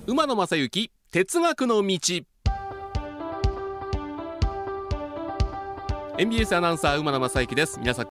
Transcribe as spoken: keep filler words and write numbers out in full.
馬野正幸哲学の道。 エムビーエス アナウンサー馬野正幸です。皆さん